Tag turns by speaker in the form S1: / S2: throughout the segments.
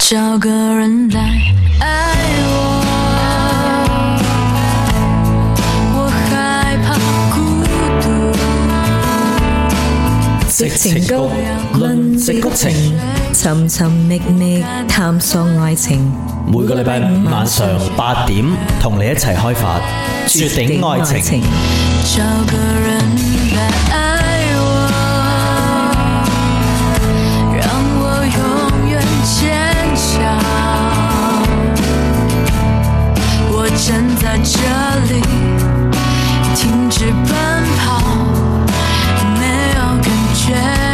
S1: 找個人來愛我，我害怕孤獨。矽情谷，論矽谷情，尋尋覓覓探索愛情。
S2: 每個禮拜五晚上8點，同你一齊開發絕頂愛情。
S1: 找個人來愛我，讓我永遠堅強。我站在這裡，停止奔跑，沒有感覺。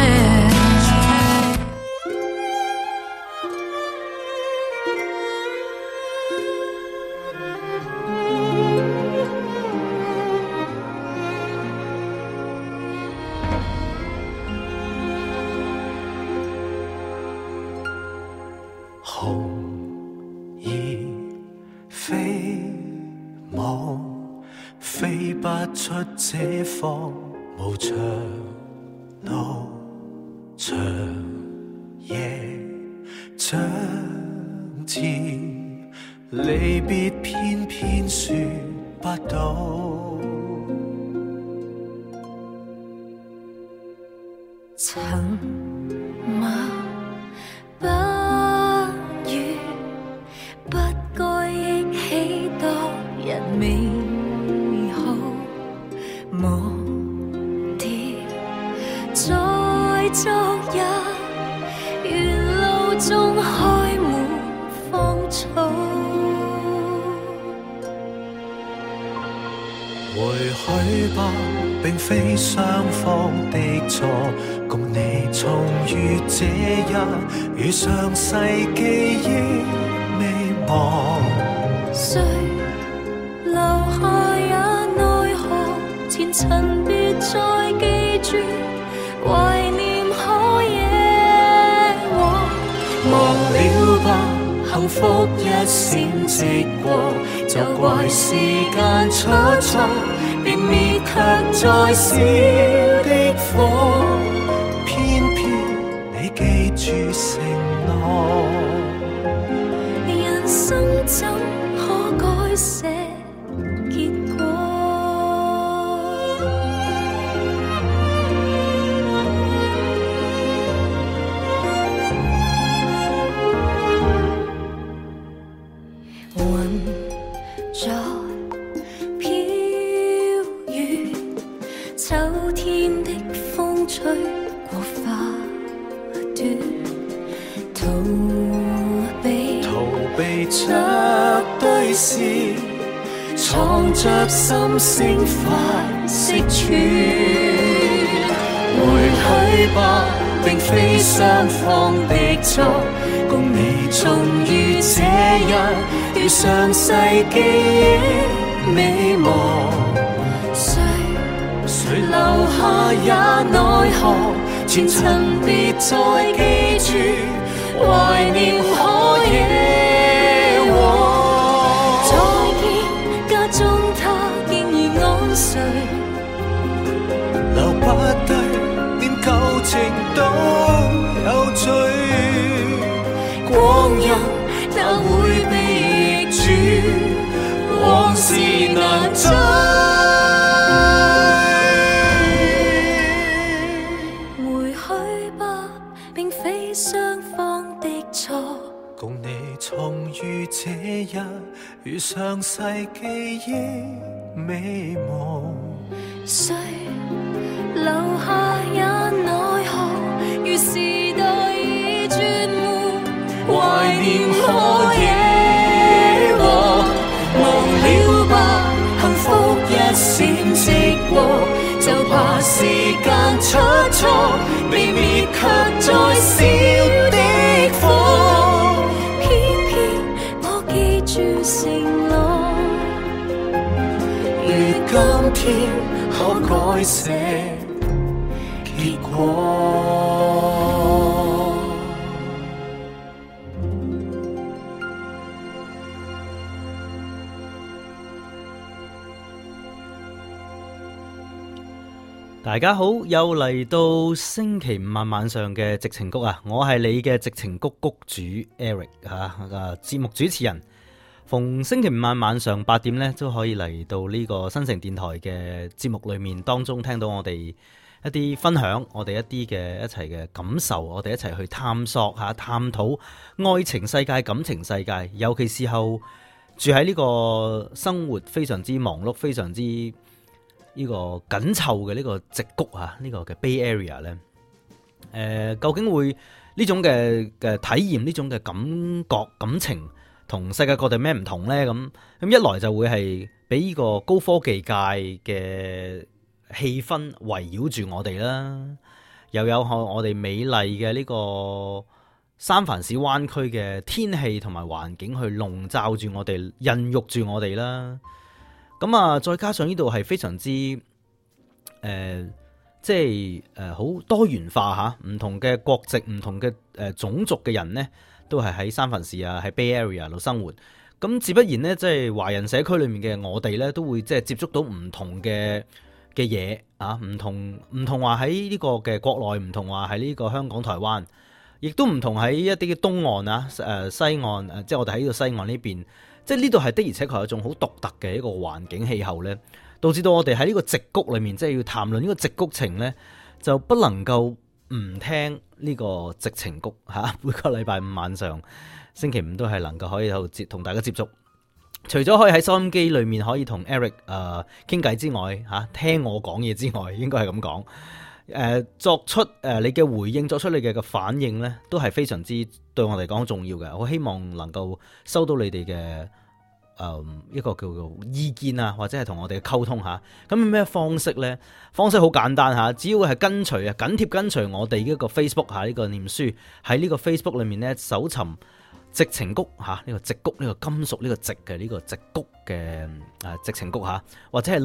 S3: 紅葉飛舞，飛不出這方無長路，長夜將至，離別偏偏說不到。
S1: 沉默不語，不該憶起當日美好，忘掉在昨日，沿路中開滿芳草。
S3: 回去吧，並非雙方的錯，共你重遇這日，如上世記憶未忘。
S1: 誰留下也奈何，前塵別再記住，懷念可野往。
S3: 忘了吧，幸福一閃即過，就怪時間出錯，別滅卻再小的火，偏偏你記住承諾。
S1: 人生怎可改寫結果？雲在飄雨，秋天的風吹過花朵，逃避着對視，藏着心聲快釋出。
S3: 回去吧，並非雙方的錯，共你重遇這日，如上世記憶美夢。誰留下也奈何，前塵別再記住，懷念可野往。
S1: 再見，家中他竟已安睡，
S3: 留不低，連舊情都有罪。光陰哪會被逆轉，往事難追。
S1: 回去吧，並非雙方的錯，
S3: 共你重遇這日，如上世記憶美夢。
S1: 誰留下也奈何，如時代已絕沒，
S3: 懷念可野往。忘了吧，幸福一閃即過，就怕時間出錯，被滅卻再小的火。
S1: 偏偏我記住承諾，
S3: 如今天可改寫結果。
S2: 大家好，又嚟到星期五晚上嘅矽情谷啊！我係你嘅矽情谷谷主 Eric 節目主持人。逢星期五晚上8點呢，都可以嚟到呢個新城電台嘅節目裏面當中，聽到我哋一啲分享，我哋一啲嘅一齊嘅感受，我哋一齊去探索下、探討愛情世界、感情世界，尤其是後住喺呢個生活非常之忙碌、非常之呢個緊湊嘅呢個矽谷啊，呢個嘅 Bay Area 咧，究竟會呢種嘅體驗，呢種嘅感覺感情，同世界各地咩唔同咧？咁一來就會係俾呢個高科技界嘅氣氛圍繞住我哋啦，又有我哋美麗嘅呢個三藩市灣區嘅天氣同埋環境去籠罩住我哋，孕育住我哋啦。咁啊，再加上呢度係非常之即係好多元化吓，唔同嘅國籍、唔同嘅種族嘅人呢，都係喺三藩市啊，喺 Bay Area 度生活。咁自不然呢，即係華人社區裏面嘅我哋呢，都會即係接觸到唔同嘅嘢啊，唔同話喺呢個嘅國內，唔同話喺呢個香港、台灣，亦都唔同喺一啲嘅東岸啊、西岸即係我哋喺呢個西岸呢邊。即係呢度係的而且確有一種好獨特嘅一個環境氣候咧，導致到我哋喺呢個矽谷裏面，即係要談論呢個矽谷情咧，就不能夠唔聽呢個矽情谷嚇。每個禮拜五晚上、星期五都係能夠可以同大家接觸。除咗可以喺收音機裏面可以同 Eric 傾偈之外，嚇聽我講嘢之外，應該係咁講。作出你嘅回應，作出你嘅反應咧，都係非常之對我嚟講重要嘅。我希望能夠收到你哋嘅一個叫做意見啊，或者係同我哋嘅溝通吓。咁咩方式咧？方式好簡單吓，只要係緊貼跟隨我哋呢個 Facebook 吓，呢個念書喺呢個 Facebook 裏面咧，搜尋矽情谷吓，呢個矽谷，呢個金屬呢個矽嘅呢個矽谷嘅矽情谷吓，或者係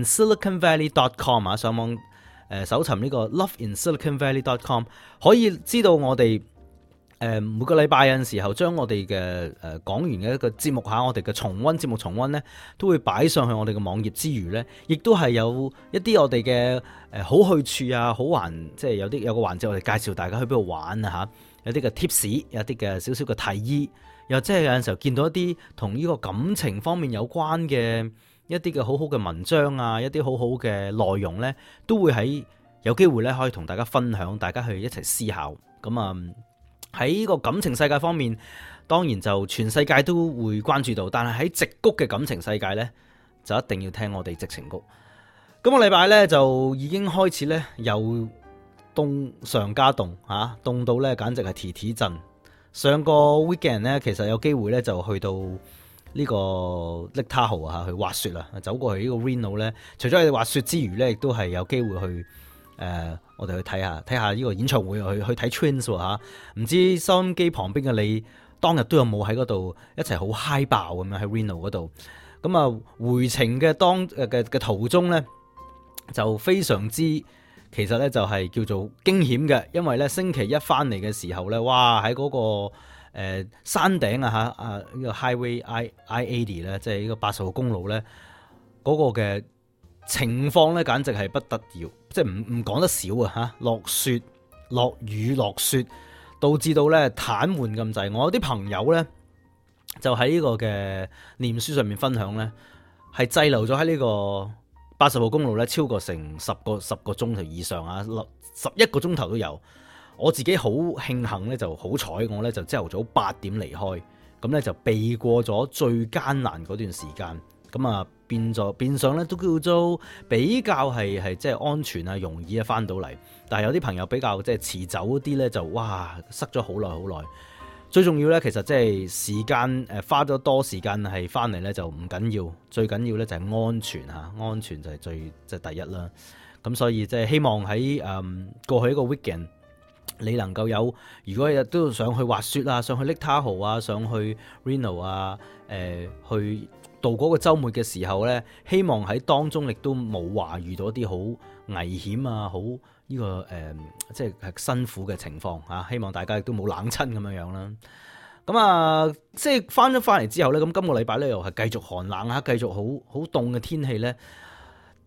S2: loveinsiliconvalley.com 啊，上網搜尋呢個 loveinsiliconvalley.com， 可以知道我哋每個禮拜有陣時候將我哋嘅講完嘅一個節目下，我哋嘅節目重溫呢，都會擺上去我哋嘅網頁之餘呢，亦都係有一啲我哋嘅好去處啊，好玩，即係有個環節我哋介紹大家去邊度玩啊吓，有啲嘅 tips， 有啲嘅少少嘅提議，又即係有陣時候見到一啲同呢個感情方面有關嘅一啲嘅好好嘅文章啊，一啲好好嘅內容呢，都會喺有機會咧可以同大家分享，大家去一齊思考。咁啊喺呢個感情世界方面，當然就全世界都會關注到，但係喺矽谷嘅感情世界呢，就一定要聽我哋矽情谷。今個禮拜呢，就已經開始呢，又凍上加凍嚇，凍到呢簡直係提震。上個 weekend 呢，其實有機會呢，就去到呢個 Lake Tahoe去滑雪啦，走過去呢個 Reno 咧，除咗係滑雪之餘咧，亦都係有機會去我哋去睇下呢個演唱會，去睇 Twins 嚇。唔知收音機旁邊嘅你當日都有冇喺嗰度一齊好嗨爆咁樣喺 Reno 嗰度？咁啊回程嘅途中咧，就非常之其實咧就係叫做驚險嘅，因為咧星期一翻嚟嘅時候咧，哇喺嗰個山頂啊吓，呢個 Highway I-80 咧，即係呢個80號公路咧，嗰個嘅情況咧，簡直係不得了，即係唔講得少啊吓，落雪、落雨、落雪，導致到咧癱瘓咁滯。我有啲朋友咧，就喺呢個嘅念書上面分享咧，係滯留咗喺呢個80號公路咧，超過成10個鐘頭以上啊，11個鐘頭都有。我自己好慶幸咧，就好彩我咧就朝頭早8點離開，咁咧就避過咗最艱難嗰段時間，咁啊變相咧都叫做比較係即係安全啊，容易啊翻到嚟。但係有啲朋友比較即係遲走啲咧，就哇塞咗好耐。最重要咧，其實即係時間花咗多時間係翻嚟咧就唔緊要，最緊要咧就係安全嚇，安全就係即係第一啦。咁所以即係希望喺過去一個 weekend。你能夠有，如果日都想去滑雪啊，上去 Lake Tahoe啊，上去 Reno 啊，去度嗰個週末嘅時候咧，希望喺當中亦都冇話遇到一啲好危險啊，好呢個即係辛苦嘅情況啊。希望大家亦都冇冷親咁樣啦。咁啊，即係翻嚟之後咧，咁今個禮拜咧又係繼續寒冷啊，繼續好凍嘅天氣咧。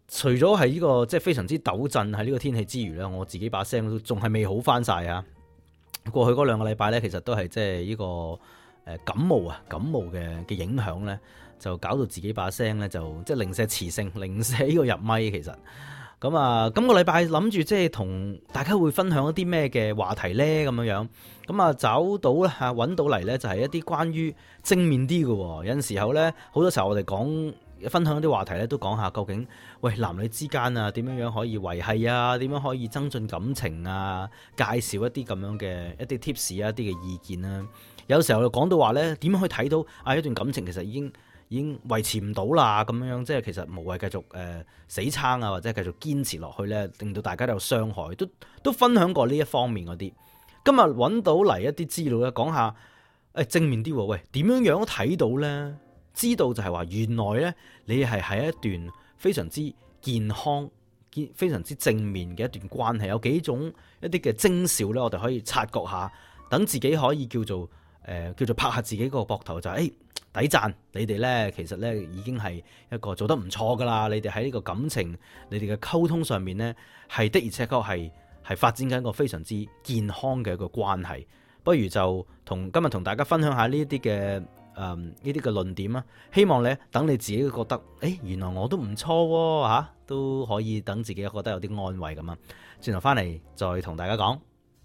S2: 除咗係呢個即係非常之抖震喺呢個天氣之餘咧，我自己把聲都仲係未好翻晒啊！過去嗰2個禮拜咧，其實都係即係呢個感冒嘅影響咧，就搞到自己把聲咧就即係零舍磁性，零舍呢個入咪其實。咁啊，今個禮拜諗住即係同大家會分享一啲咩嘅話題咧咁樣，咁啊找到咧嚇揾到嚟咧就係一啲關於正面啲嘅喎。有陣時候咧，好多時候我哋分享一啲話題咧，都講下究竟喂男女之間啊點樣可以維繫啊，點樣可以增進感情啊，介紹一啲咁樣嘅一啲 tips 啊，一啲嘅意見啊。有時候就講到話咧，點樣去睇到啊一段感情其實已經維持唔到啦咁樣，即係其實無謂繼續死撐啊，或者繼續堅持落去咧，令到大家都有傷害，都分享過呢一方面嗰啲。今日揾到嚟一啲資料咧，講下正面啲喎，喂點樣睇到咧？知道就係話原來咧，你係喺一段非常之健康、非常之正面嘅一段關係，有幾種一啲嘅徵兆咧，我哋可以察覺下，等自己可以叫做拍下自己個膊頭，就係抵讚你哋咧，其實咧已經係一個做得唔錯噶啦。你哋喺呢個感情、你哋嘅溝通上面咧，係的而且確係發展緊一個非常之健康嘅一個關係。不如就今日同大家分享下呢一啲嘅呢啲嘅論點啊，希望咧等你自己覺得，原來我都唔錯喎嚇，都可以等自己覺得有啲安慰咁啊。轉頭翻嚟再同大家講。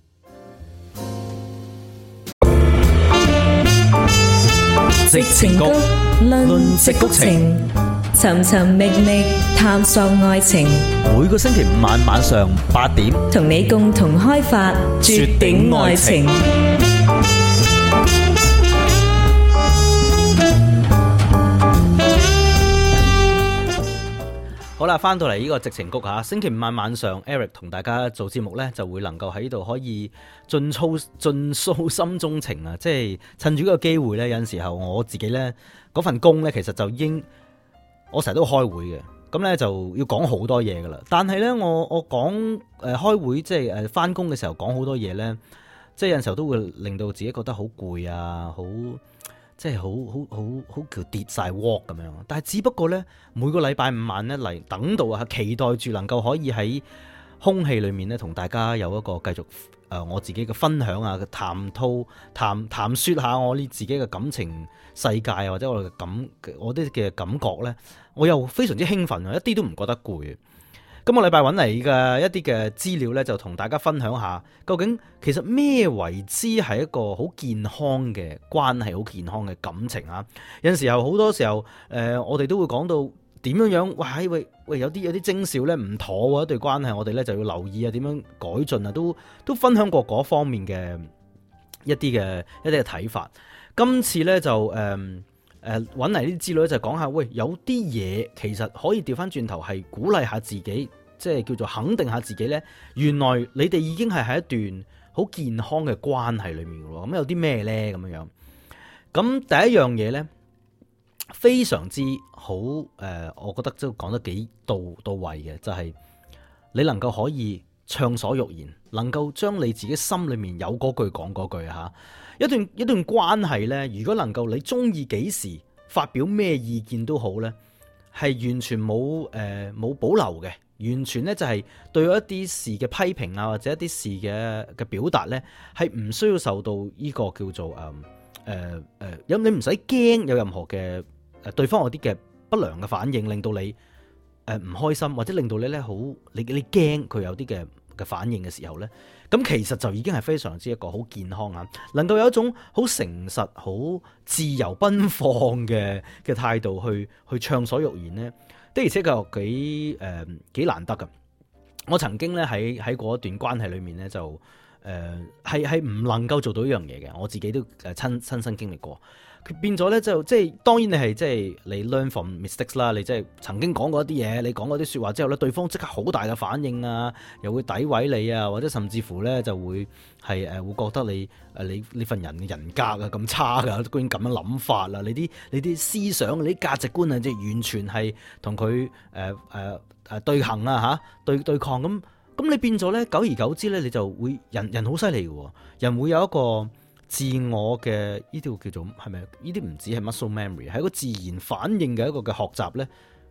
S4: 矽情谷論矽谷情，尋尋覓覓探索愛情。
S2: 每個星期5晚上8點，
S4: 同你共同開發絕頂愛情。
S2: 好啦，翻到嚟呢個矽情谷吓，星期5晚上 Eric 同大家做節目呢，就會能夠喺度可以盡訴心中情啊！即係趁住呢個機會呢，有陣時候我自己呢嗰份工呢，其實就已經我成日都開會嘅，咁呢就要講好多嘢噶啦。但係呢，我講開會即係翻工嘅時候講好多嘢呢，即係有陣時候都會令到自己覺得好攰啊，好即係好叫跌晒鑊咁樣，但係只不過咧，每個禮拜5晚咧嚟等到啊，期待住能夠可以喺空氣裏面咧，同大家有一個繼續我自己嘅分享啊，嘅談說下我呢自己嘅感情世界或者我啲嘅感覺咧，我又非常之興奮啊，一啲都唔覺得攰。今個禮拜揾嚟嘅一啲嘅資料咧，就同大家分享下，究竟其實咩為之係一個好健康嘅關係，好健康嘅感情啊？有陣時候，好多時候，我哋都會講到點樣樣，喂，有啲徵兆咧唔妥喎，一對關係，我哋咧就要留意啊，點樣改進啊，都分享過嗰方面嘅一啲嘅睇法。今次咧就揾嚟啲資料就講下，喂，有啲嘢其實可以調翻轉頭係鼓勵下自己，即係叫做肯定下自己呢。原來你哋已經係喺一段好健康嘅關係裏面嘅喎。咁有啲咩呢？咁樣。咁第一樣嘢呢，非常之好，我覺得都講得幾到位嘅，就係你能夠可以暢所欲言，能夠將你自己心裏面有嗰句講嗰句嚇。一段關係呢，如果能夠你中意幾時發表咩意見都好呢，係完全冇保留嘅，完全呢就係對一啲事嘅批評啊，或者一啲事嘅表達呢，係唔需要受到呢個叫做你唔使驚有任何嘅對方有啲嘅不良嘅反應，令到你唔開心，或者令到你呢好你驚佢有啲嘅反應嘅時候呢，咁其實就已經係非常之一個好健康啊，能夠有一種好誠實、好自由奔放嘅態度去暢所欲言呢，的而且確幾難得噶。我曾經咧喺嗰段關係裏面呢，就係唔能夠做到呢樣嘢嘅，我自己都親身經歷過。佢變咗咧就即係當然你係即係你 learn from mistakes 啦，你即係曾經講過一啲嘢，你講嗰啲説話之後咧，對方即刻好大嘅反應啊，又會詆毀你啊，或者甚至乎咧就會係會覺得你份人嘅人格啊咁差噶，居然咁樣諗法啦，你啲思想、你啲價值觀啊，即係完全係同佢對行啊嚇對抗咁你變咗咧，久而久之咧，你就會人好犀利嘅喎，人會有一個自我嘅呢條叫做係咪？呢啲唔止係 muscle memory，係一個自然反應嘅一個嘅學習咧，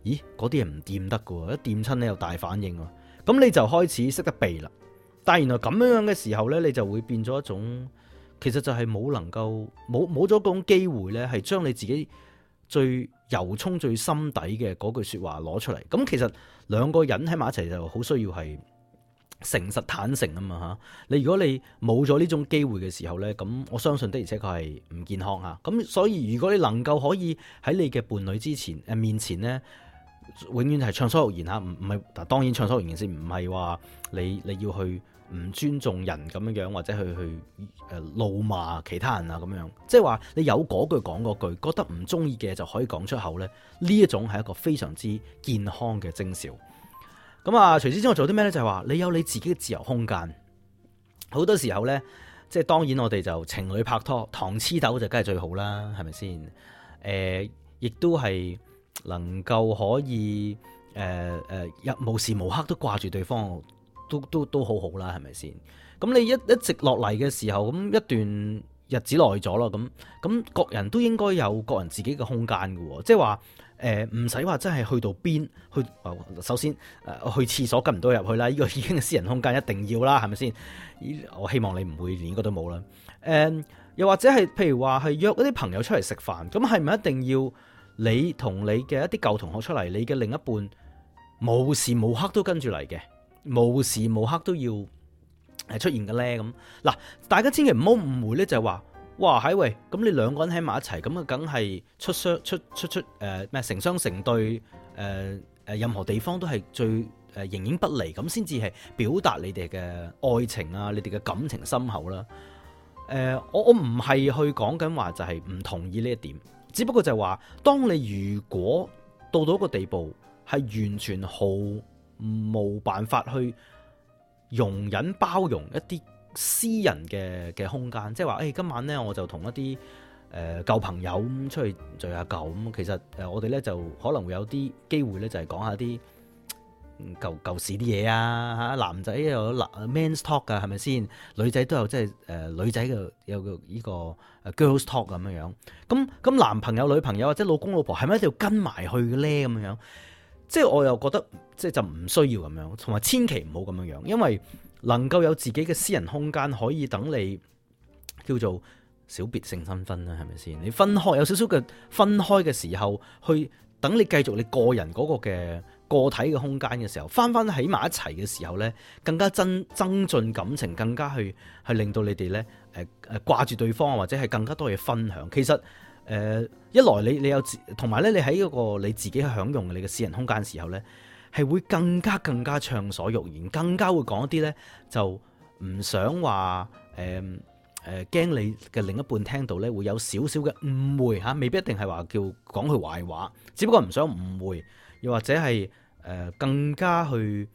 S2: 咦嗰啲嘢唔掂得㗎喎，一掂親咧有大反應喎，咁你就開始識得避啦。但係原來咁樣嘅時候咧，你就會變咗一種，其實就係冇咗嗰種機會咧，係將你自己最由衷最心底嘅嗰句說話攞出嚟。咁其實兩個人喺埋一齊就好需要係誠實坦誠啊嘛吓。如果你冇咗呢種機會嘅時候咧，咁我相信的而且確係唔健康吓。咁所以如果你能夠可以喺你嘅伴侶面前咧，永遠係暢所欲言吓，唔係當然暢所欲言先，唔係話你要去唔尊重人咁樣樣，或者去怒罵其他人啊咁樣，即係話你有嗰句講嗰句，覺得唔中意嘅就可以講出口咧，呢一種係一個非常之健康嘅徵兆。咁啊，除此之外做啲咩咧？就係話你有你自己嘅自由空間。好多時候咧，即係當然我哋就情侶拍拖，糖黐豆就梗係最好啦，係咪先？亦都係能夠可以無時無刻都掛住對方。都好好啦，係咪先？咁你一直落嚟嘅時候，咁一段日子耐咗咯，咁各人都應該有各人自己嘅空間嘅，即係話唔使話真係去到邊去。首先去廁所跟唔到入去啦，呢個已經係私人空間，一定要啦，係咪先？我希望你唔會連呢個都冇啦。又或者係譬如話係約一啲朋友出嚟食飯，咁係咪一定要你同你嘅一啲舊同學出嚟，你嘅另一半無時無刻都跟住嚟嘅？無時無刻都要出現嘅咧，咁嗱，大家千祈唔好誤會咧，就係話，哇，喂，咁你兩個人喺埋一齊，咁啊，梗係出咩成雙成對，任何地方都係最形影不離，咁先至係表達你哋嘅愛情啊，你哋嘅感情深厚啦。我唔係去講緊話就係唔同意呢一點，只不過就係話，當你如果到一個地步係完全冇辦法去容忍包容一啲私人嘅空間，即係話今晚咧我就同一啲舊朋友咁出去聚下舊咁，其實我哋咧就可能會有啲機會咧就係講下啲舊時啲嘢啊，男仔有 men's talk 噶，係咪先？女仔都有即係女仔嘅有個呢個 girls talk 咁樣樣。咁男朋友女朋友或者老公老婆係咪一定要跟埋去嘅咧？咁樣樣？即係我又覺得，即係就唔需要咁樣，同埋千祈唔好咁樣樣，因為能夠有自己嘅私人空間，可以等你叫做小別勝新婚啦，係咪先？你分開有少少嘅分開嘅時候，去等你繼續你個人嗰個嘅個體嘅空間嘅時候，翻喺埋一齊嘅時候咧，更加增進感情，更加去令到你哋咧掛住對方，或者係更加多嘢分享。其實。一來你有同埋咧，你喺嗰個你自己享用你嘅私人空間嘅時候咧，係會更加暢所欲言，更加會講一啲咧就唔想話驚你嘅另一半聽到咧會有少少嘅誤會吓，未必一定係話叫講佢壞話，只不過唔想誤會，又或者係更加去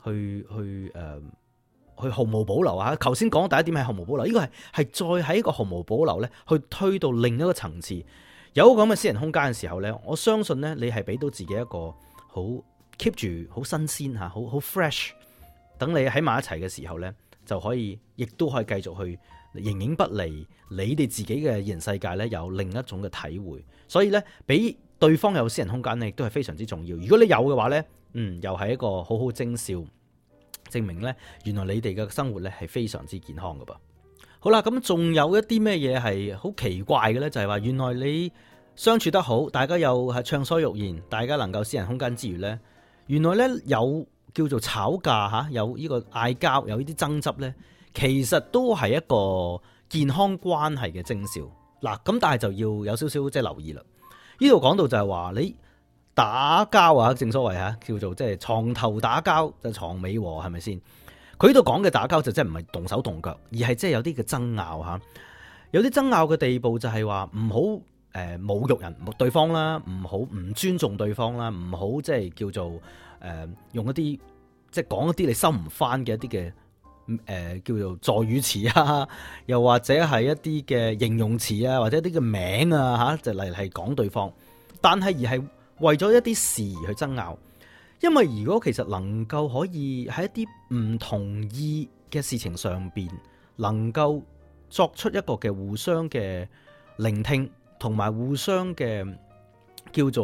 S2: 毫無保留啊！頭先講第一點係毫無保留，呢個係再喺一個毫無保留咧，去推到另一個層次。有個咁嘅私人空間嘅時候咧，我相信咧，你係俾到自己一個好 keep 住好新鮮吓，好 fresh。等你喺埋一齊嘅時候咧，就可以，亦都可以繼續去形影不離。你哋自己嘅現實世界咧，有另一種嘅體會。所以咧，俾對方有私人空間咧，亦都係非常之重要。如果你有嘅話咧，又係一個好好徵兆。證明咧，原來你哋嘅生活咧係非常之健康噶噃。好啦，咁仲有一啲咩嘢係好奇怪嘅咧？就係話原來你相處得好，大家又係暢所欲言，大家能夠私人空間之餘咧，原來咧有叫做吵架吓，有呢個嗌交，有呢啲爭執咧，其實都係一個健康關係嘅徵兆。嗱，咁但係就要有少少即係留意啦。呢度講到就係話你。打交啊，正所謂吓，叫做即係床頭打交就床尾和，係咪先？佢呢度講嘅打交就真係唔係動手動腳，而係即係有啲嘅爭拗吓，有啲爭拗嘅地步就係話唔好侮辱人對方啦，唔好唔尊重對方啦，唔好即係叫做用一啲即係講一啲你收唔翻嘅一啲嘅叫做助語詞啊，又或者係一啲嘅形容詞啊，或者一啲嘅名啊吓，就例如係講對方，但係而係。為咗一啲事而去爭拗，因為如果其實能夠可以喺一啲唔同意嘅事情上邊，能夠作出一個嘅互相嘅聆聽，同埋互相嘅叫做係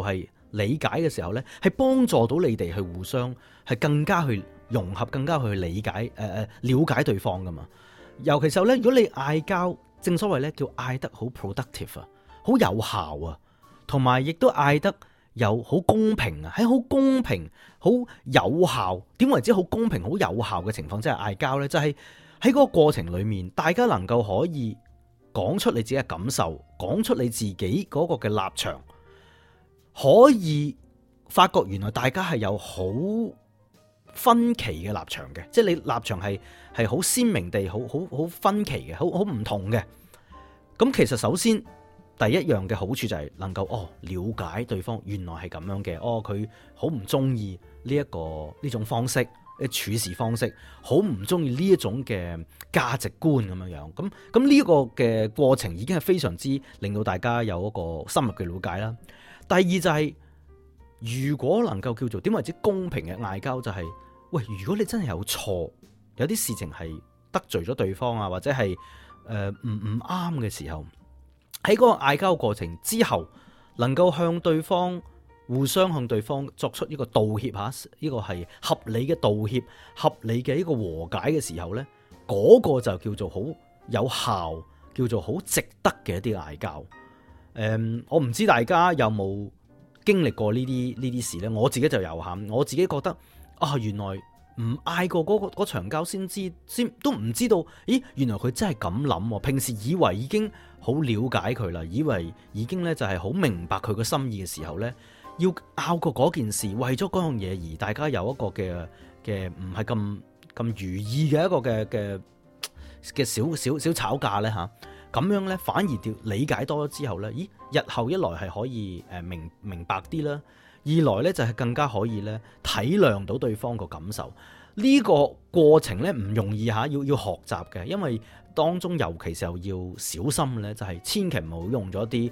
S2: 理解嘅時候呢，係幫助到你哋去互相係更加去融合，更加去理解了解對方噶嘛。尤其是咧，如果你嗌交，正所謂咧叫嗌得好 productive 啊，好有效啊，同埋亦都嗌得有好公平啊，喺好公平、好有效。點為之好公平、好有效嘅情況之下嗌交呢？就係喺嗰個過程裡面，大家能夠可以講出你自己嘅感受，講出你自己嗰個嘅立場，可以發覺原來大家係有好分歧嘅立場嘅，即係你立場係好鮮明地好分歧嘅，好唔同嘅。咁其實首先第一樣嘅好處就係能夠了解對方原來係咁樣嘅，佢好唔中意呢種方式處事方式，好唔中意呢一種嘅價值觀咁樣。咁呢個嘅過程已經係非常之令到大家有一個深入嘅了解啦。第二就係如果能夠叫做點為之公平嘅嗌交，就係喂，如果你真係有錯，有啲事情係得罪咗對方啊，或者係唔啱嘅時候，喺嗰個嗌交過程之後，能夠向對方互相向對方作出一個道歉吓，呢個係合理嘅道歉，合理嘅一個和解嘅時候呢，嗰個就叫做好有效，叫做好值得嘅一啲嗌交。我唔知大家有冇經歷過呢啲事呢？我自己就有吓，我自己覺得原來唔嗌過嗰場交先都唔知道，咦，原來佢真係咁諗。平時以為已經好了解佢啦，以為已經咧就係好明白佢個心意嘅時候呢，要拗過嗰件事，為咗嗰樣嘢而大家有一個嘅唔係咁如意嘅一個嘅小吵架呢。吓。咁樣呢，反而理解多咗之後呢，咦，日後一來係可以明白啲啦，二來呢就係更加可以呢體諒到對方個感受。呢個過程呢唔容易吓，要學習嘅，因為當中尤其是要小心呢，就係千祈唔好用咗啲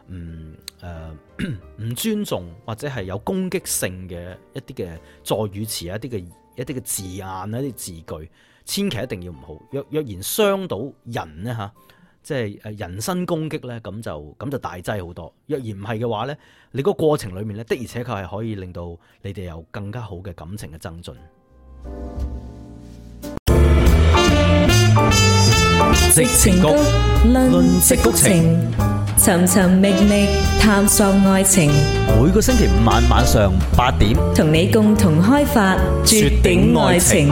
S2: 唔尊重或者係有攻擊性嘅一啲嘅助語詞啊，一啲嘅字眼啊，一啲字句，千祈一定要唔好。若然傷到人呢吓，即係人身攻擊呢，咁就大劑好多。若然唔係嘅話呢，你個過程裏面呢，的而且確係可以令到你哋有更加好嘅感情嘅增進。
S4: 矽情谷論矽谷情，尋尋覓覓探索愛情。
S2: 每個星期五晚上8點，
S4: 同你共同開發絕頂愛情。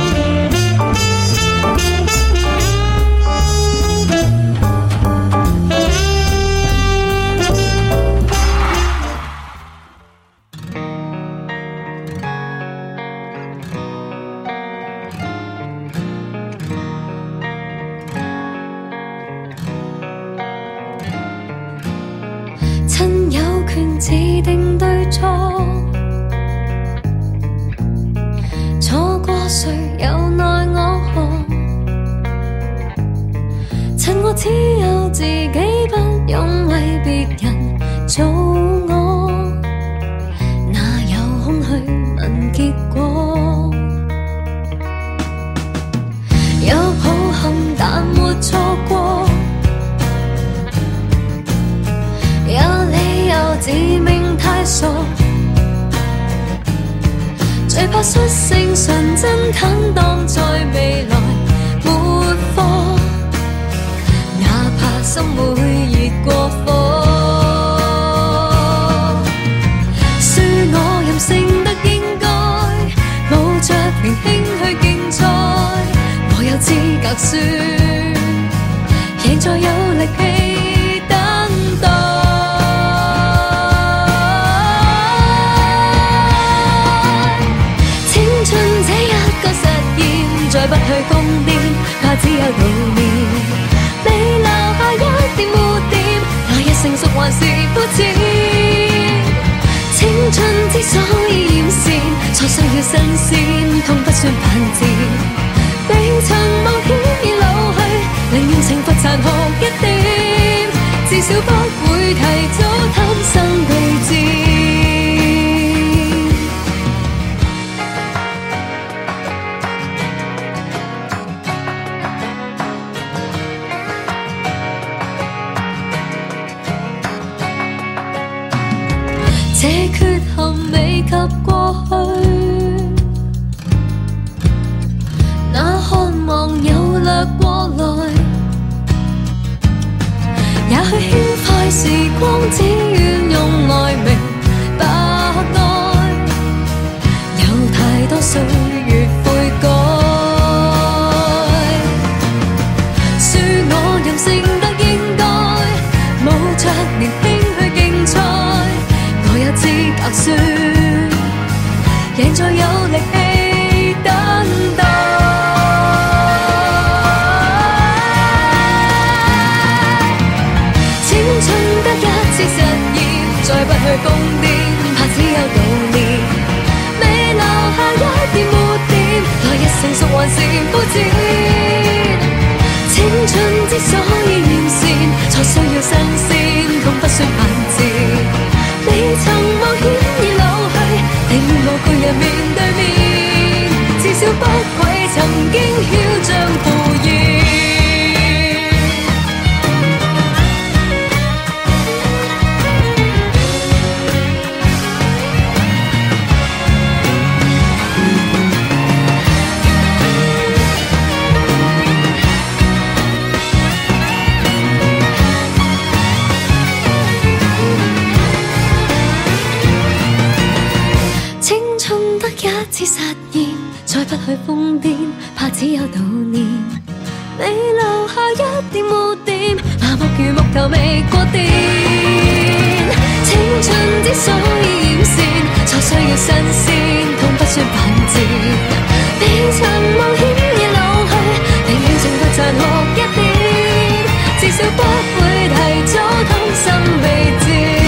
S1: 自定對錯，錯過誰又奈我何？趁我只有自己，不用為別人做我，哪有空去問結果？有抱憾但沒錯過，有理由自命太傻，最怕率性純真坦蕩在未來沒貨，哪怕心會熱過火。恕我任性得應該，冒着年輕去競賽，我有資格輸，贏在有力氣等待。再不去瘋癲，怕只有悼念，未留下一點污點，來日成熟還是膚淺。青春之所以艷羨，錯需要新鮮，痛不算犯賤。未曾冒險已老去，寧願懲罰殘酷一點，至少不會提早貪生對戰。 這缺陷未及過去，那渴望有掠過來，也許輕快時光，只願用來明白愛，有太多歲月悔改，恕我任性得應該，無着年輕去競賽，我有資格說，贏在有力氣等待。青春得一次實驗，再不去瘋癲，怕只有悼念，未留下一點污點，來日成熟還是膚淺。青春之所以完善，才需要新鮮，痛不算犯賤。你曾冒險已老去，令我巨人面對面，至少不愧曾經囂張赴宴。一次實驗，再不去瘋癲，怕只有悼念，未留下一點污點，麻木如木頭未過電。青春之所以完善，才需要新鮮，痛不算犯賤。未曾冒險已老去，寧願懲罰殘酷一點，至少不會提早甘心被賤。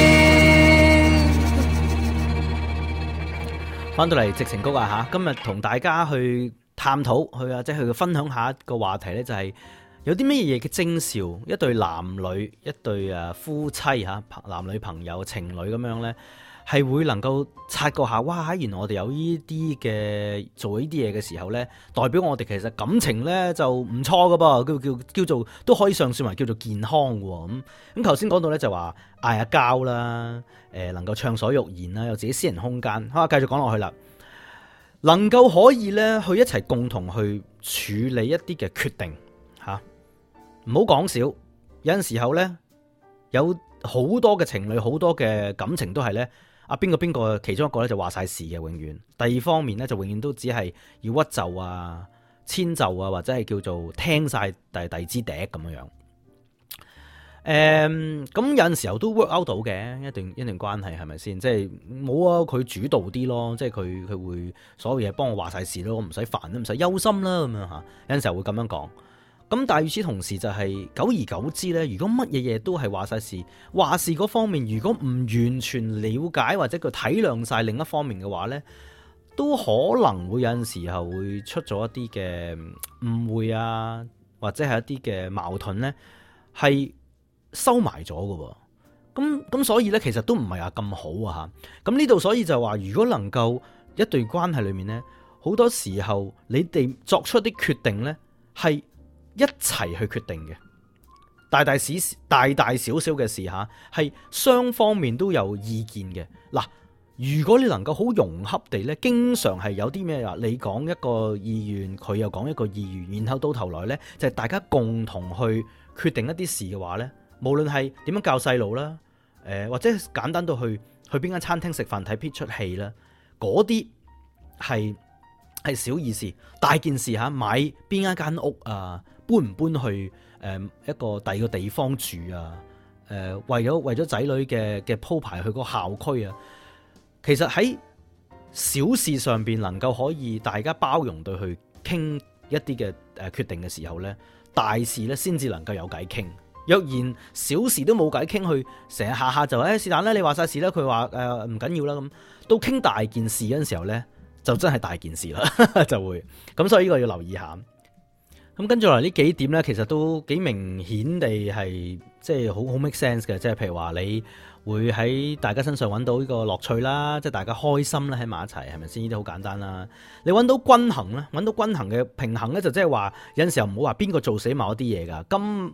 S2: 翻到嚟矽情谷啊吓，今日同大家去探討即係去分享下一個話題呢，就係有啲咩嘢嘅徵兆，一對男女，一對夫妻吓，男女朋友情侶咁樣呢，係會能夠察覺下，哇！原來我哋有呢啲嘅做呢啲嘢嘅時候呢，代表我哋其實感情呢就唔錯噶噃，叫做都可以上算為叫做健康喎。咁頭先講到呢，就話嗌下交啦，能夠暢所欲言啦，有自己私人空間。好，繼續講落去啦，能夠可以呢去一齊共同去處理一啲嘅決定吓，唔好講少。有陣時候呢，有好多嘅情侶，好多嘅感情都係呢。邊個其中一個咧就話晒事嘅，永遠。第二方面咧就永遠都只係要屈就啊、遷就啊，或者係叫做聽晒第支笛咁樣。咁有陣時候都 work out 到嘅一段關係，係咪先？即係冇啊，佢主導啲咯，即係佢會所有嘢幫我話晒事咯，我唔使煩啦，唔使憂心啦咁樣吓。有陣時候會咁樣講。咁但係與此同時就係久而久之咧，如果乜嘢嘢都係話晒事，話事嗰方面如果唔完全了解或者佢體諒晒另一方面嘅話咧，都可能會有陣時候會出咗一啲嘅誤會啊，或者係一啲嘅矛盾咧，係收埋咗㗎喎。咁所以咧，其實都唔係話咁好啊吓。咁呢度所以就話，如果能夠一對關係裏面咧，好多時候你哋作出啲決定咧，係一齊去決定嘅，大大小小嘅事吓，係雙方面都有意見嘅。嗱，如果你能夠好融洽地咧，經常係有啲咩啊，你講一個意願，佢又講一個意願，然後到頭來咧就係大家共同去決定一啲事嘅話咧，無論係點樣教細路啦，或者簡單到去邊間餐廳食飯睇邊出戲啦，嗰啲係小意思，大件事吓，買邊一間屋啊，搬唔搬去一個第二個地方住啊？為咗仔女嘅鋪排去個校區啊，其實喺小事上邊能夠可以大家包容對去傾一啲嘅決定嘅時候呢，大事呢先至能夠有偈傾。若然小事都冇偈傾，去成日下就是但啦，你話晒事啦，佢話唔緊要啦，咁到傾大件事嗰陣時候呢，就真係大件事啦，就會咁，所以呢個要留意下。咁跟住嚟呢幾點呢，其實都幾明顯地係即係好 make sense 嘅，即係譬如話你會喺大家身上揾到呢個樂趣啦，即係大家開心啦，喺埋一齊，係咪先？呢啲好簡單啦。你揾到均衡咧，揾到均衡嘅平衡咧，就即係話有陣時候唔好話邊個做死某一啲嘢噶。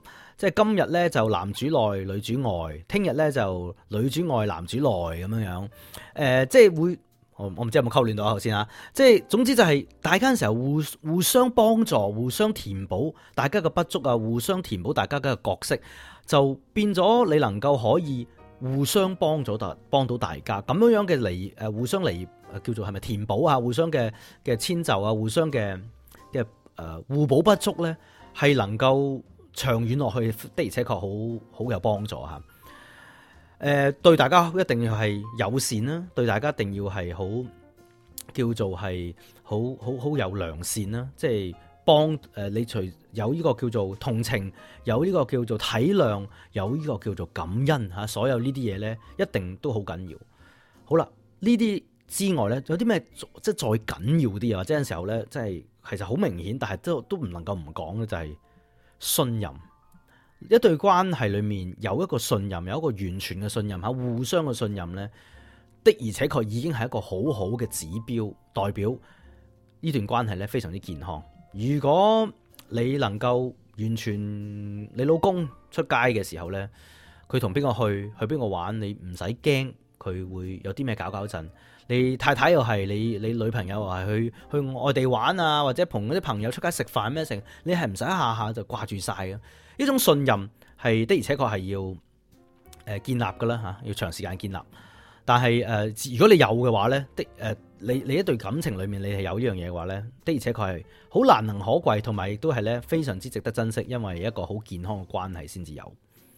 S2: 即係今日咧就男主內女主外，聽日咧就女主外男主內咁樣樣。即係會我唔知有冇溝亂到頭先啊。即係總之就係大家嘅時候互相幫助、互相填補大家嘅不足啊，互相填補大家嘅角色，就變咗你能夠可以互相幫到大家咁樣嘅互相叫做係咪填補啊？互相嘅遷就啊，互相嘅互補不足咧，係能夠長遠落去的而且確好有幫助嚇。對大家一定要係友善啦，對大家一定要係好叫做係好有良善啦，即係幫你除有呢個叫做同情，有呢個叫做體諒，有呢個叫做感恩嚇，所有呢啲嘢咧一定都好緊要。好啦，呢啲之外咧，有啲咩即係再緊要啲啊？或者有陣時候咧，即係其實好明顯，但係都唔能夠唔講嘅就係信任。一對關係裏面有一個信任，有一個完全嘅信任嚇，互相嘅信任咧，的而且確已經係一個好好嘅指標，代表呢段關係咧非常之健康。如果你能夠完全你老公出街嘅時候咧，佢同邊個去邊個玩，你唔使驚佢會有啲咩搞震。你太太又係你女朋友又係去外地玩啊，或者同嗰啲朋友出街食飯咩成，你係唔使下下就掛住晒嘅。呢種信任係的而且確係要建立噶啦嚇，要長時間建立。但係如果你有嘅話咧，你一段感情裡面你係有呢樣嘢嘅話咧，的而且確係好難能可貴，同埋亦都係咧非常之值得珍惜，因為一個好健康嘅關係先至有。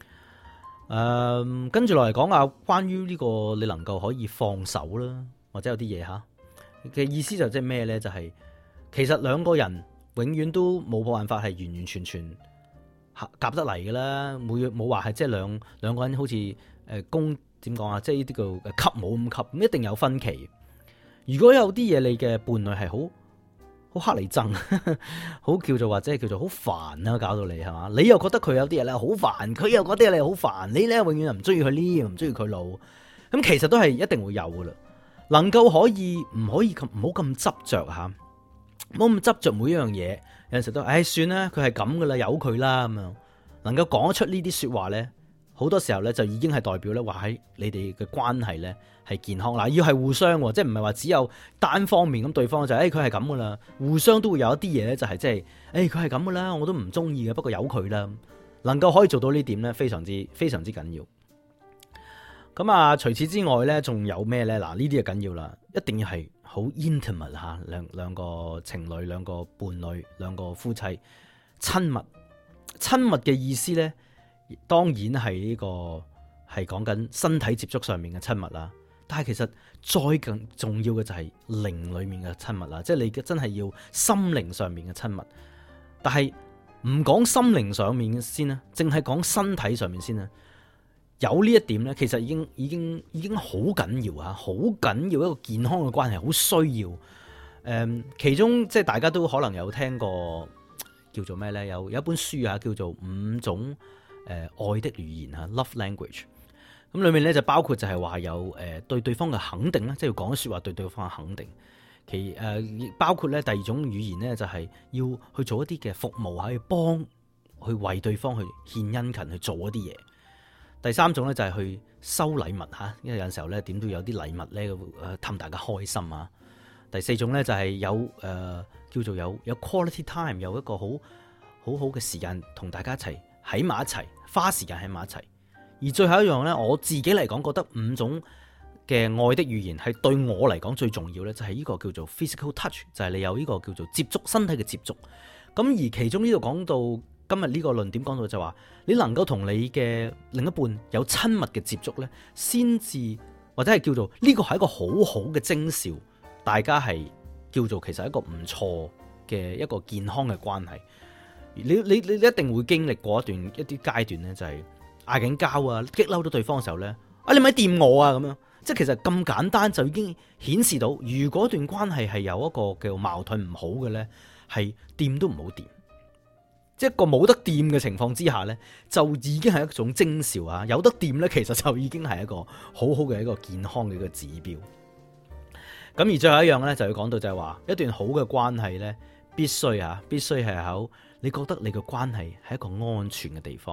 S2: 跟住落嚟講下關於呢個你能夠可以放手啦，或者有啲嘢嚇嘅意思就即係咩咧？就係其實兩個人永遠都冇辦法係完完全全夾得嚟嘅啦，冇話係即係兩個人好似點講啊？即係呢啲叫吸冇咁吸，咁一定有分歧。如果有啲嘢你嘅伴侶係好黑你憎，好叫做或者係叫做好煩啦，搞到你係嘛？你又覺得佢有啲嘢咧好煩，佢又覺得你好煩，你咧永遠唔中意佢呢，唔中意佢老，咁其實都係一定會有噶啦。能夠可以唔好咁執着吓，唔好咁執着每一樣嘢。有陣時都算啦，佢係咁噶啦，由佢啦咁樣。能夠講得出呢啲說話咧，好多時候咧就已經係代表咧話喺你哋嘅關係咧係健康啦。要係互相，即係唔係話只有單方面咁，對方就佢係咁噶啦，互相都會有一啲嘢咧就係即係佢係咁噶啦，我都唔中意嘅，不過由佢啦。能夠可以做到呢點咧，非常之緊要。咁啊，除此之外咧，仲有咩咧？嗱，呢啲就緊要啦，一定要係好 intimate 吓，兩個情侶、兩個伴侶、兩個夫妻親密。親密嘅意思咧，當然係呢個係講緊身體接觸上面嘅親密啦。但係其實再更重要嘅就係靈裏面嘅親密啦，即係你真係要心靈上面嘅親密。但係唔講心靈上面先啦，淨係講身體上面先啦。有呢一點咧，其實已經好緊要吓，好緊要一個健康嘅關係，好需要。其中即係大家都可能有聽過。叫做咩咧？有一本書啊，叫做5種愛的語言啊 ，Love Language。咁裏面咧就包括就係話有對對方嘅肯定啦，即係要講說話對對方嘅肯定。包括咧第二種語言咧就係要去做一啲嘅服務，去為對方去獻殷勤去做一啲嘢。第三種咧就係去收禮物吓，因為有陣時候咧點都有啲禮物咧氹大家開心啊。第四種咧就係有叫做有 quality time， 有一個好嘅時間同大家一齊喺埋一齊，花時間喺埋一齊。而最後一樣咧，我自己嚟講覺得5種嘅愛的語言係對我嚟講最重要咧，就係呢個叫做 physical touch， 就係你有呢個叫做接觸身體嘅接觸。咁而其中呢度講到今日呢個論點講到就話，你能夠同你嘅另一半有親密嘅接觸咧，先至或者係叫做呢個係一個好好嘅徵兆。大家係叫做其實一個唔錯嘅一個健康嘅關係。你一定會經歷過一啲階段咧，就係嗌緊交啊，激嬲到對方嘅時候咧，你咪掂我啊咁樣。即係其實咁簡單就已經顯示到，如果段關係係有一個叫矛盾唔好嘅咧，係掂都唔好掂。即係一個冇得掂嘅情況之下咧，就已經係一種徵兆啊。有得掂咧，其實就已經係一個好好嘅一個健康嘅一個指標。咁而最後一樣咧，就要講到就係話，一段好嘅關係咧，必須係好，你覺得你嘅關係係一個安全嘅地方，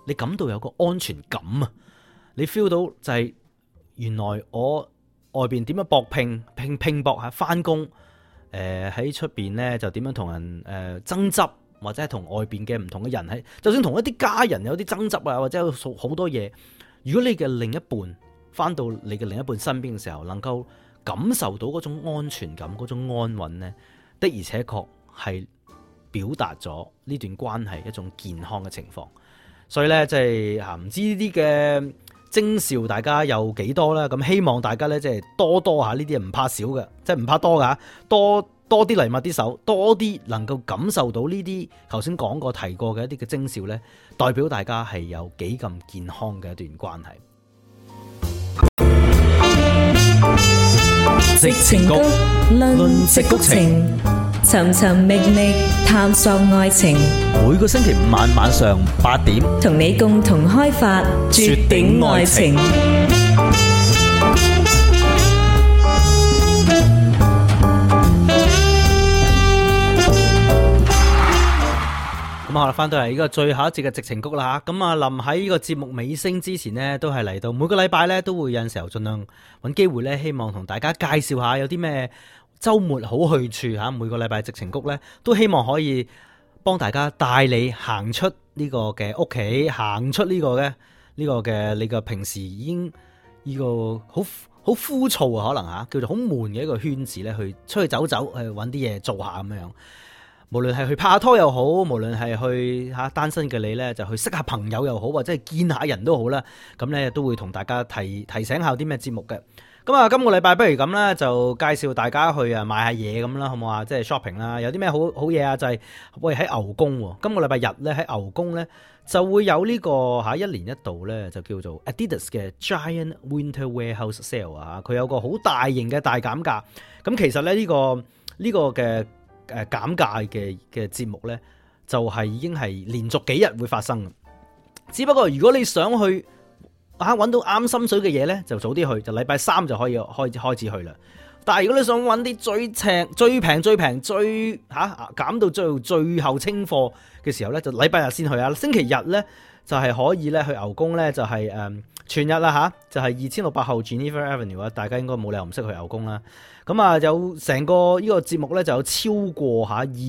S2: 你感到有個安全感啊！你 feel 到就係原來我外邊點樣搏拼搏下翻工，喺出邊咧就點樣同人爭執，或者係同外邊嘅唔同嘅人喺，就算同一啲家人有啲爭執啊，或者有好多嘢，如果你嘅另一半翻到你嘅另一半身邊嘅時候，能夠感受到嗰種安全感、嗰種安穩呢，的而且確係表達咗呢段關係一種健康嘅情況。所以咧，即係唔知呢啲嘅徵兆大家有幾多啦？咁希望大家咧，即係多下呢啲唔怕少嘅，即係唔怕多噶，多啲嚟握啲手，多啲能夠感受到呢啲頭先講過提過嘅一啲嘅徵兆咧，代表大家係有幾咁健康嘅一段關係。
S4: 矽情谷論矽谷情，尋尋覓覓探索愛情。
S2: 每個星期五晚上8點，
S4: 同你共同開發絕頂愛情。
S2: 咁好啦，翻到嚟呢個最後一節嘅矽情谷啦吓，咁啊臨喺呢個節目尾聲之前呢，都係嚟到每個禮拜呢，都會有陣時候盡量揾機會呢，希望同大家介紹下有啲咩週末好去處吓。每個禮拜矽情谷呢，都希望可以幫大家帶你行出呢個嘅屋企，行出呢個嘅你嘅平時已經呢個好枯燥啊，可能吓叫做好悶嘅一個圈子呢，去出去走去揾啲嘢做下咁樣。無論係去拍下拖又好，無論係去單身嘅你呢，就去識下朋友又好，或者係見下人都好啦。咁呢都會同大家提醒下啲咩節目嘅。咁啊，今個禮拜不如咁啦，就介紹大家去買下嘢咁啦，好唔好啊？即係 shopping 啦，有啲咩好嘢啊？就係喂喺牛宮，今個禮拜日呢，喺牛宮呢，就會有呢個一年一度呢，就叫做 Adidas 嘅 Giant Winter Warehouse Sale 啊。佢有個好大型嘅大減價。咁其實呢，呢個嘅減價嘅節目呢，就係已經係連續幾日會發生嘅。只不過如果你想去揾到啱心水嘅嘢呢，就早啲去，就禮拜3就可以開始去啦。但係如果你想揾啲最平減到最後清貨嘅時候呢，就禮拜日先去啊。星期日呢，就係可以咧去牛宮呢，就係全日啦吓，就係2600號 Geneva Avenue 啊。大家應該冇理由唔識去牛宮啦。咁啊，有成個呢個節目呢，就有超過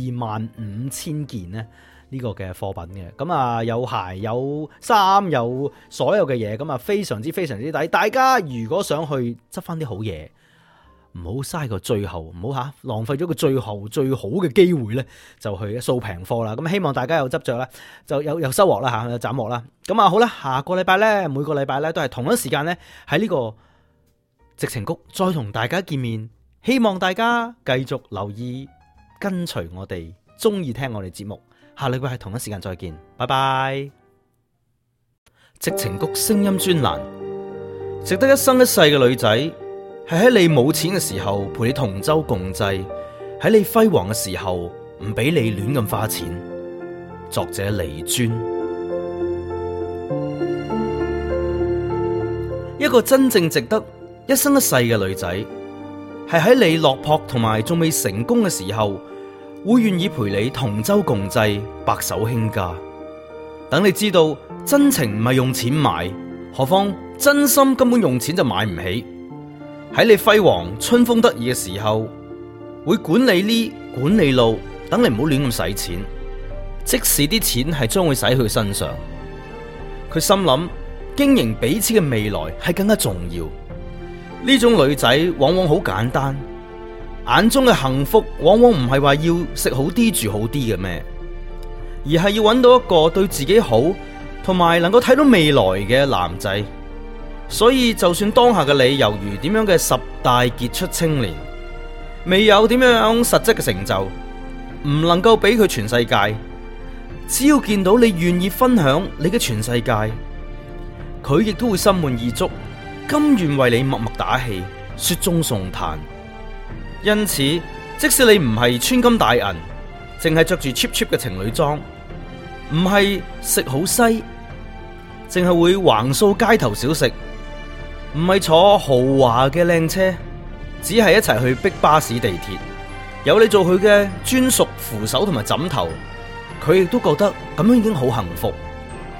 S2: 25000件呢呢個嘅貨品嘅。咁啊，有鞋有衫有所有嘅嘢，咁啊非常之抵。大家如果想去執翻啲好嘢，唔好嘥個最後，唔好浪費咗個最後最好嘅機會呢，就去掃平貨啦。咁希望大家有執着啦，就有收穫啦有斬獲啦。咁啊好啦，下個禮拜呢，每個禮拜呢，都係同一時間呢，喺呢個矽情谷再同大家見面。希望大家繼續留意跟隨我哋，中意聽我哋節目。下禮拜係同一時間再見，拜拜。矽情谷聲音專欄，值得一生一世嘅女仔，係喺你冇錢嘅時候陪你同舟共濟，喺你輝煌嘅時候唔俾你亂咁花錢。作者李尊。一個真正值得一生一世嘅女仔，係喺你落魄同埋仲未成功嘅時候，會願意陪你同舟共濟，白手興家。等你知道真情唔係用錢買，何況真心根本用錢就買唔起。喺你輝煌春風得意嘅時候，會管理呢管理路，等你唔好亂咁使錢，即使啲錢係將會使去身上。佢心諗經營彼此嘅未來係更加重要。呢種女仔往往好簡單，眼中嘅幸福往往唔係話要食好啲住好啲嘅咩，而係要揾到一個對自己好同埋能夠睇到未來嘅男仔。所以就算當下嘅你猶如點樣嘅10大傑出青年，未有點樣實質嘅成就，唔能夠俾佢全世界，只要見到你願意分享你嘅全世界，佢亦都會心滿意足，甘願為你默默打氣，雪中送炭。因此，即使你唔係穿金戴銀，淨係着住 cheap 嘅情侶裝，唔係食好西，淨係會橫掃街頭小食，唔係坐豪華嘅靚車，只係一齊去逼巴士地鐵，有你做佢嘅專屬扶手同埋枕頭，佢亦都覺得咁樣已經好幸福。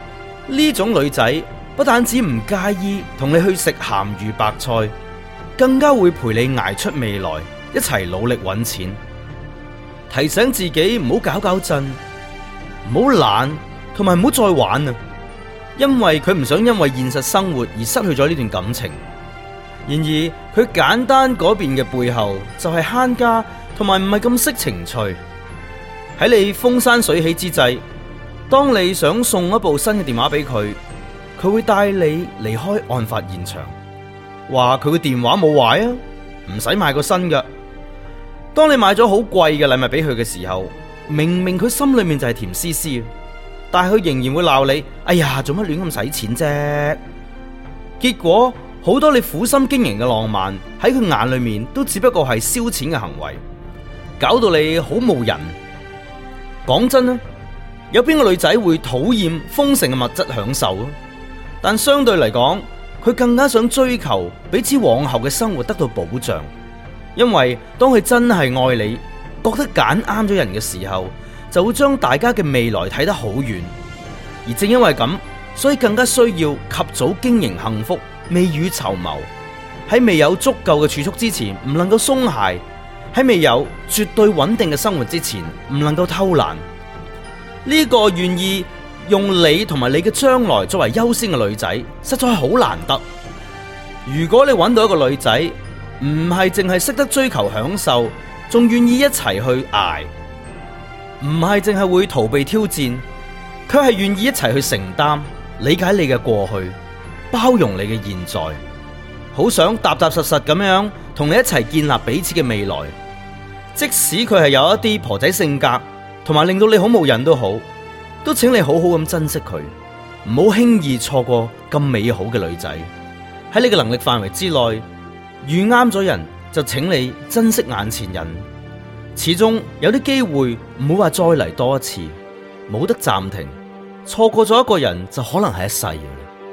S2: 呢種女仔不但止唔介意同你去食鹹魚白菜，更加會陪你捱出未來，一齊努力揾錢，提醒自己唔好搞震，唔好懶，同埋唔好再玩啊！因為佢唔想因為現實生活而失去咗呢段感情。然而佢簡單嗰邊嘅背後就係慳家，同埋唔係咁識情趣。喺你風生水起之際，當你想送一部新嘅電話俾佢，佢會帶你離開案發現場，話佢嘅電話冇壞啊，唔使買個新嘅。當你買咗好貴嘅禮物俾佢嘅時候，明明佢心裏面就係甜絲絲，但係佢仍然會鬧你，哎呀，做乜亂咁使錢啫？結果好多你苦心經營嘅浪漫喺佢眼裏面都只不過係燒錢嘅行為，搞到你好無癮。講真啦，有邊個女仔會討厭豐盛嘅物質享受啊？但相對嚟講，佢更加想追求彼此往後嘅生活得到保障。因為當佢真係愛你，覺得揀啱咗人嘅時候，就會將大家嘅未來睇得好遠。而正因為咁，所以更加需要及早經營幸福，未雨綢繆。喺未有足夠嘅儲蓄之前，唔能夠鬆懈；喺未有絕對穩定嘅生活之前，唔能夠偷懶。呢個願意用你同埋你嘅將來作為優先嘅女仔，實在係好難得。如果你揾到一個女仔，唔係淨係識得追求享受，仲願意一齊去捱，唔係淨係會逃避挑戰，佢係願意一齊去承擔，理解你嘅過去，包容你嘅現在，好想踏踏實實咁樣同你一齊建立彼此嘅未來。即使佢係有一啲婆仔性格，同埋令到你好無癮都好，都請你好好咁珍惜佢，唔好輕易錯過咁美好嘅女仔。喺你嘅能力範圍之內，遇啱咗人就請你珍惜眼前人。始終有啲機會唔會話再嚟多一次，冇得暫停。錯過咗一個人就可能係一世嘅。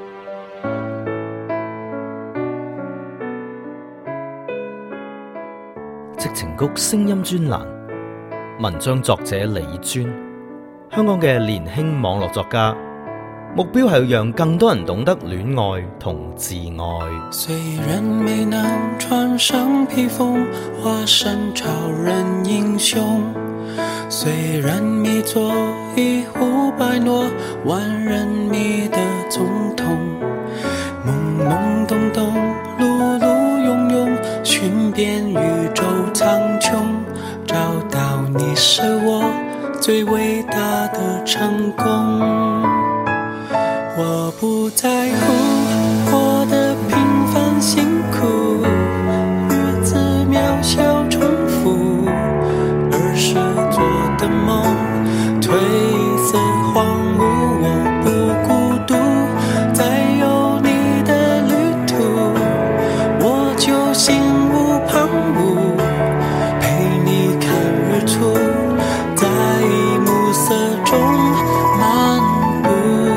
S2: 矽情谷聲音專欄，文章作者李尊，香港嘅年輕網絡作家，目標係要讓更多人懂得戀愛同自愛。
S3: 雖然沒能穿上披風，化身超人英雄，雖然沒做一呼百諾，萬人迷的總統，懵懵懂懂，碌碌庸庸，尋遍宇宙蒼穹，找到你是我最偉大的成功。我不在乎過得平凡辛苦，日子渺小重複，兒時做的夢褪色荒蕪，我不孤獨，在有你的旅途，我就心無旁騖，陪你看日出，在暮色中漫步。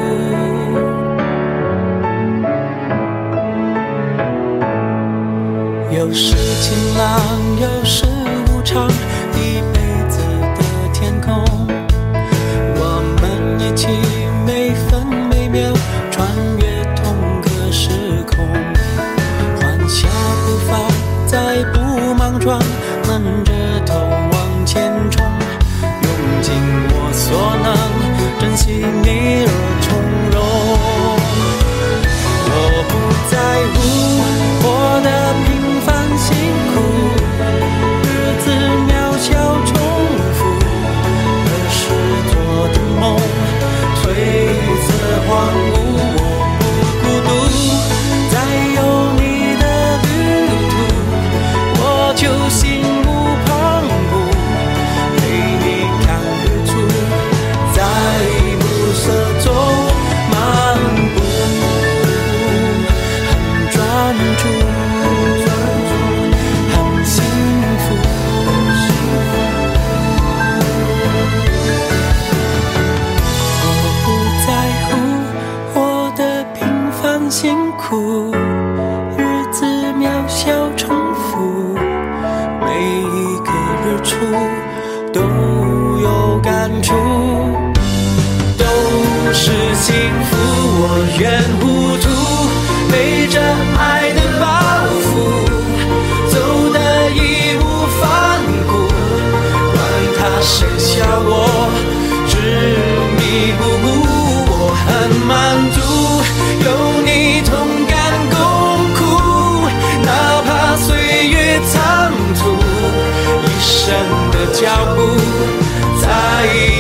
S3: 有時晴朗，有時無常，一輩子的天空，我們一起每分每秒穿越同個時空，緩下步伐，再不莽撞，悶着頭往前衝，用盡我所能，珍惜你而從容。我不在乎我的平凡辛苦，日子渺小重複，兒時做的夢褪色荒蕪，我不孤獨，在有你的旅途，我就心無旁騖，陪你看日出，在暮色中漫步，很專注，很幸福。我不在乎我的平凡辛苦，日子渺小重複，每一個日出都有感觸，都是幸福。 願糊塗，背着愛的包袱，走得義無反顧，管他誰笑我執迷不悟，我很滿足，有你同甘共苦，哪怕歲月倉促，一生的腳步在